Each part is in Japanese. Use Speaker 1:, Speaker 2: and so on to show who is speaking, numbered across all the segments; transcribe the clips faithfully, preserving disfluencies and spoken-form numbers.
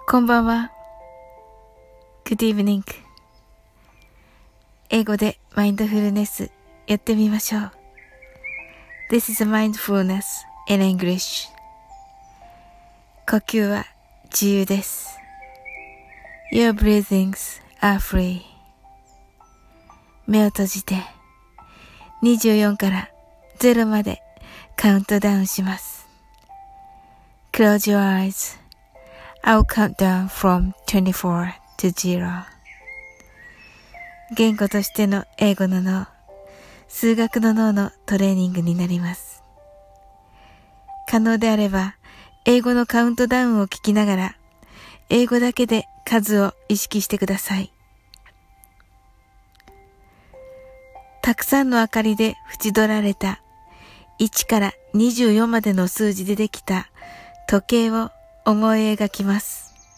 Speaker 1: こんばんは。Good evening. 英語でマインドフルネスやってみましょう。This is mindfulness in English. 呼吸は自由です。Your breathings are free. 目を閉じてにじゅうよんからゼロまでカウントダウンします。Close your eyes.I'll count down from twenty-four to zero. 言語としての英語の脳、数学の脳のトレーニングになります。可能であれば、英語のカウントダウンを聞きながら、英語だけで数を意識してください。たくさんの明かりで縁取られたいちからにじゅうよんまでの数字でできた時計を思い描きます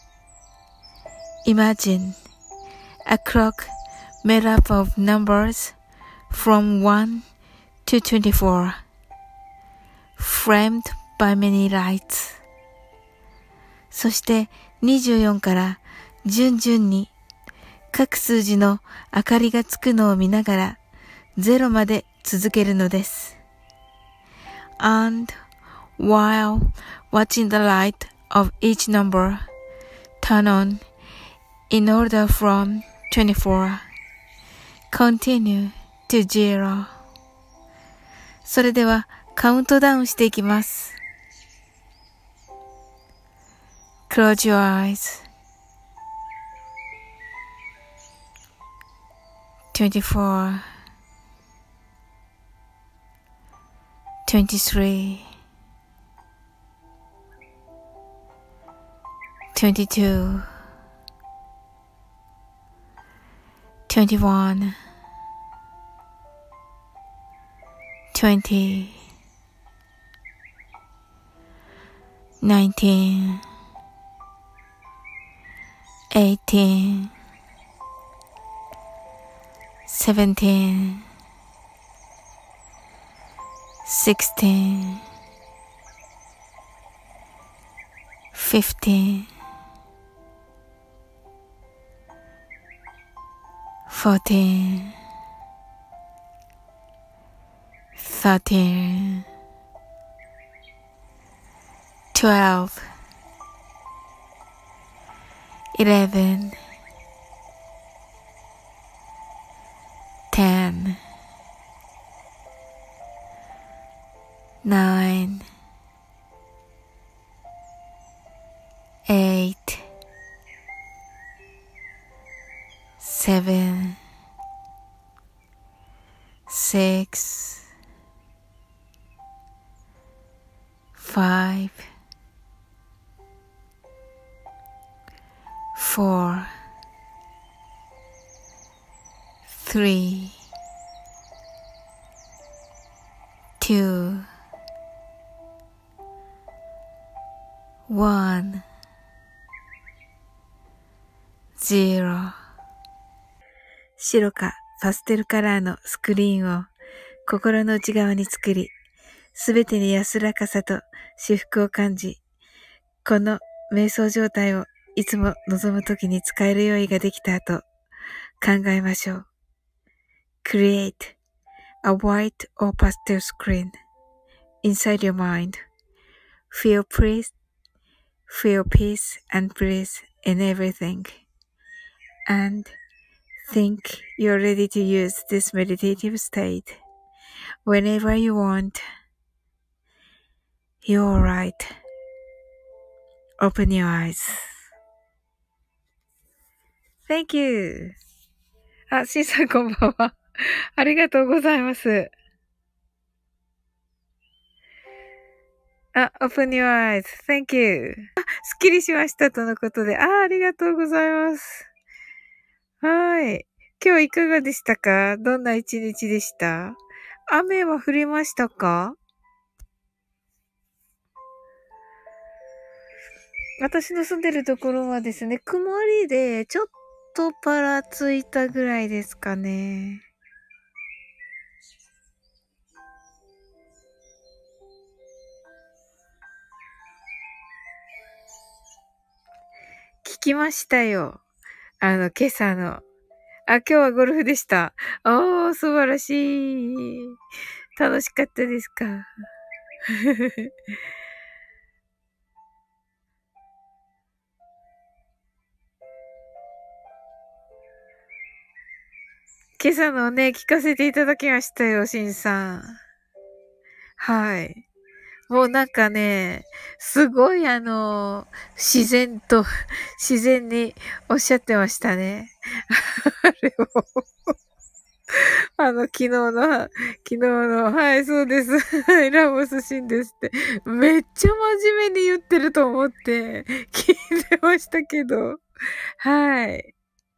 Speaker 1: 。Imagine a clock made up of numbers from one to twenty-four, framed by many lights. そしてにじゅうよんから順々に各数字の明かりがつくのを見ながらゼロまで続けるのです。And while watching the light of each number turn on in order from twenty-four, continue to zero. それではカウントダウンしていきます。Close your eyes. twenty-four, twenty-three, twenty-two, twenty-one, twenty, nineteen, eighteen, seventeen, sixteen, fifteen,Fourteen, thirteen, twelve, eleven, ten, nine, eight, seven,Six, five, four, three, two, one, zero. 白かパステルカラーのスクリーンを心の内側に作り、すべてに安らかさと至福を感じ、この瞑想状態をいつも望むときに使える用意ができた後、考えましょう。Create a white or pastel screen inside your mind. Feel peace, feel peace and bliss in everything. And think you're ready to use this meditative state whenever you want. You're right. Open your eyes. Thank you. あ、シーさんこんばんは。ありがとうございます。あ、Open your eyes. Thank you. あ、すっきりしましたとのことで。あ、ありがとうございます。はい。今日いかがでしたか？どんな一日でした？雨は降りましたか？私の住んでるところはですね、曇りでちょっとパラついたぐらいですかね。 聞きましたよ。あの、今朝の。あ、今日はゴルフでした。おー、素晴らしい。楽しかったですか？今朝のね、聞かせていただきましたよ、しんさん。はい。もうなんかね、すごいあの、自然と、自然におっしゃってましたね。あれを、あの、昨日の、昨日の、はい、そうです。はい、ラモスシンですって。めっちゃ真面目に言ってると思って、聞いてましたけど。はい。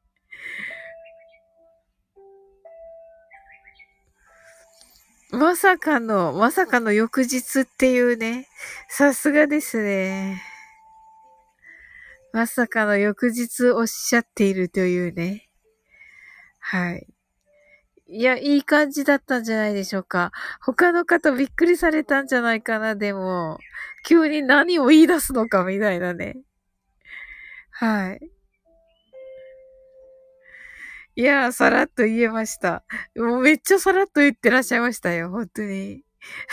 Speaker 1: まさかの、まさかの翌日っていうね。さすがですね。まさかの翌日おっしゃっているというね。はい。いや、いい感じだったんじゃないでしょうか。他の方びっくりされたんじゃないかな、でも。急に何を言い出すのかみたいなね。はい。いやー、さらっと言えました。もうめっちゃさらっと言ってらっしゃいましたよ、本当に。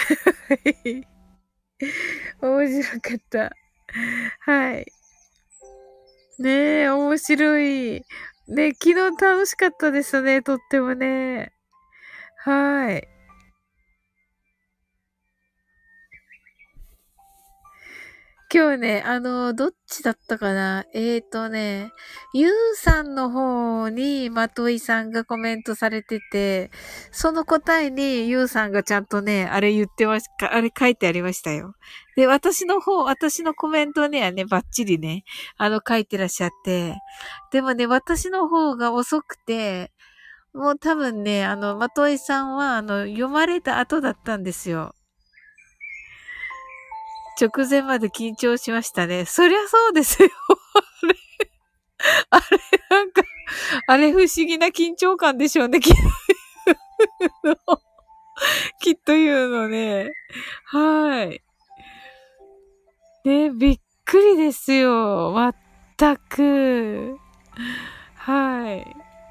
Speaker 1: 面白かった。はい。ねえ、面白い。ね、昨日楽しかったですね、とってもね。はい。今日ね、あの、どっちだったかなえーとね、ゆうさんの方にまといさんがコメントされてて、その答えにゆうさんがちゃんとね、あれ言ってましか、あれ書いてありましたよ。で、私の方、私のコメントにはね、バッチリね、あの書いてらっしゃって、でもね、私の方が遅くて、もう多分ね、あの、まといさんは、あの、読まれた後だったんですよ。直前まで緊張しましたね。そりゃそうですよ。あれ、なんか、あれ不思議な緊張感でしょうね。きっと、きっと言うのね。はい。ね、びっくりですよ。まったく。はい。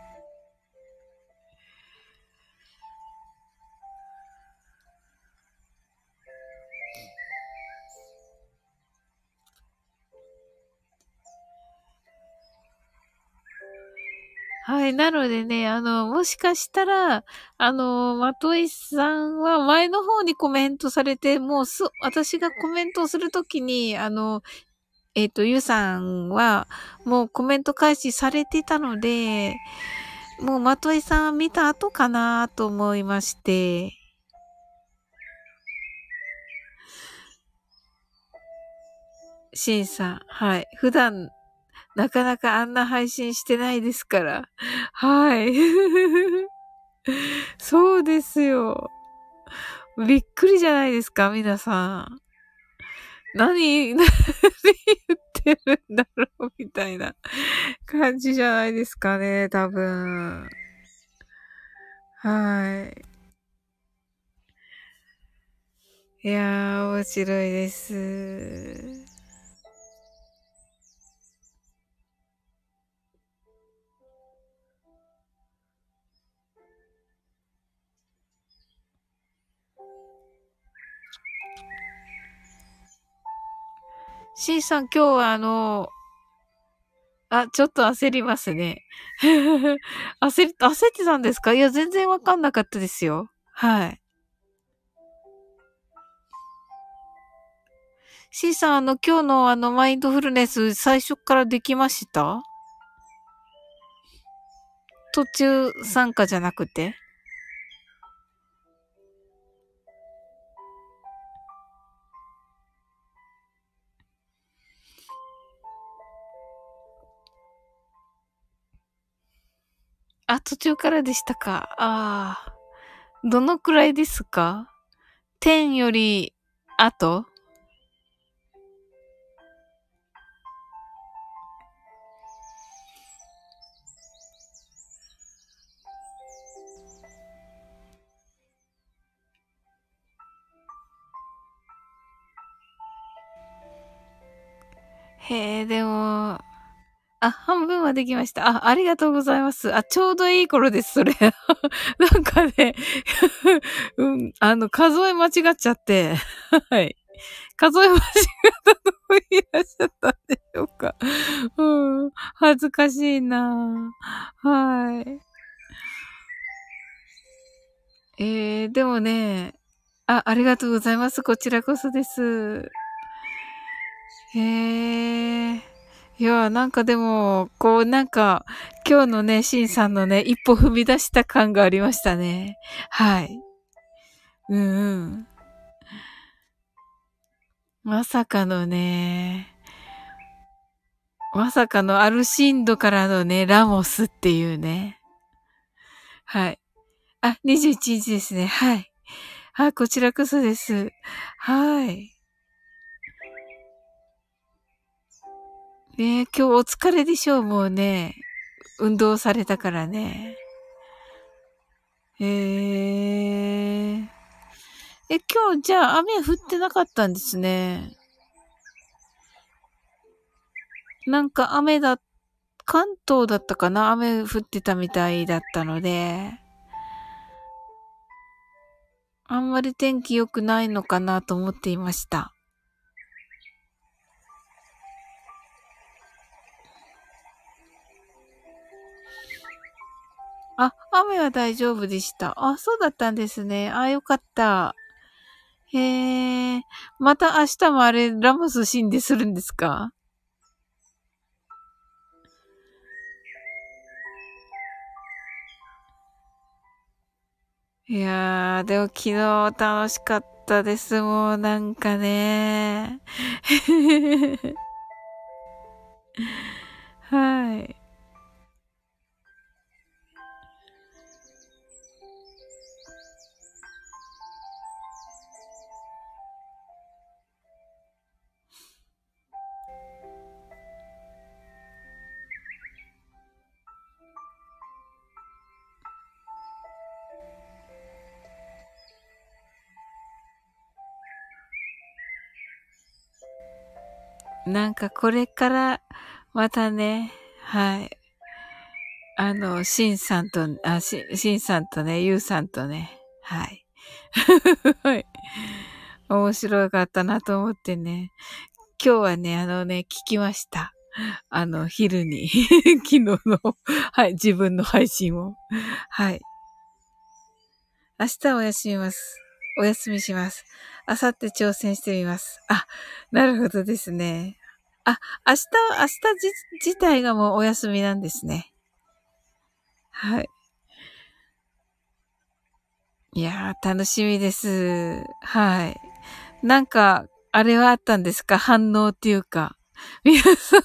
Speaker 1: はい。なのでね、あの、もしかしたら、あの、まといさんは前の方にコメントされて、もうす、私がコメントをするときに、あの、えっと、ゆうさんは、もうコメント開始されてたので、もう、まといさん見た後かなと思いまして、しんさん、はい。普段、なかなかあんな配信してないですから。はい。そうですよ。びっくりじゃないですか、皆さん。何、何言ってるんだろう、みたいな感じじゃないですかね、多分。はい。いやー、面白いです。C さん、今日はあの、あ、ちょっと焦りますね。焦り、焦ってたんですか？いや、全然わかんなかったですよ。はい。C さん、あの、今日のあの、マインドフルネス、最初からできました？途中参加じゃなくて？あ、途中からでしたか。ああ。どのくらいですか？ じゅう より後？へえ、でも、 あ、半分はできました。あ、ありがとうございます。あ、ちょうどいい頃です、それ。なんかね、うん、あの、数え間違っちゃって、はい。数え間違ったとこいらっしゃったんでしょうか。うん、恥ずかしいなはい。えー、でもね、あ、ありがとうございます。こちらこそです。へえ。いや、なんかでも、こうなんか、今日のね、シンさんのね、一歩踏み出した感がありましたね。はい。うんうん。まさかのね、まさかのアルシンドからのね、ラモスっていうね。はい。あ、にじゅういちにちですね。はい。あ、こちらこそです。はい。ね今日お疲れでしょう、もうね。運動されたからね。へえ。え、今日じゃあ雨降ってなかったんですね。なんか雨だ、関東だったかな雨降ってたみたいだったので、あんまり天気良くないのかなと思っていました。あ、雨は大丈夫でした。あ、そうだったんですね。あ、よかった。へえ。また明日もあれ、ラモス死んでするんですか？いやー、でも昨日楽しかったです。もうなんかね。はい。なんかこれからまたね、はい。あの、シンさんと、あ、シン、シンさんとね、ユウさんとね、はい。はい。面白かったなと思ってね。今日はね、あのね、聞きました。あの、昼に。昨日の、はい、自分の配信を。はい。明日はお休みます。お休みします。明後日挑戦してみます。あ、なるほどですね。あ、明日、明日じ自体がもうお休みなんですね。はい。いやー、楽しみです。はい。なんか、あれはあったんですか？反応っていうか。皆さん、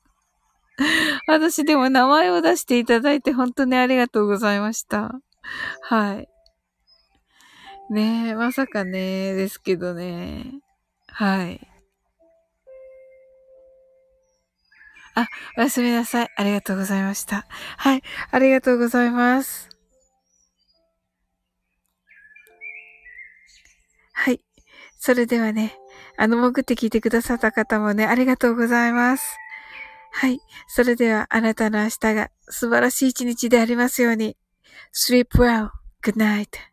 Speaker 1: 私でも名前を出していただいて本当にありがとうございました。はい。ねえ、まさかね、ですけどね。はい。あ、おやすみなさい。ありがとうございました。はい。ありがとうございます。はい。それではね、あの、潜って聞いてくださった方もね、ありがとうございます。はい。それでは、あなたの明日が素晴らしい一日でありますように。Sleep well. Good night.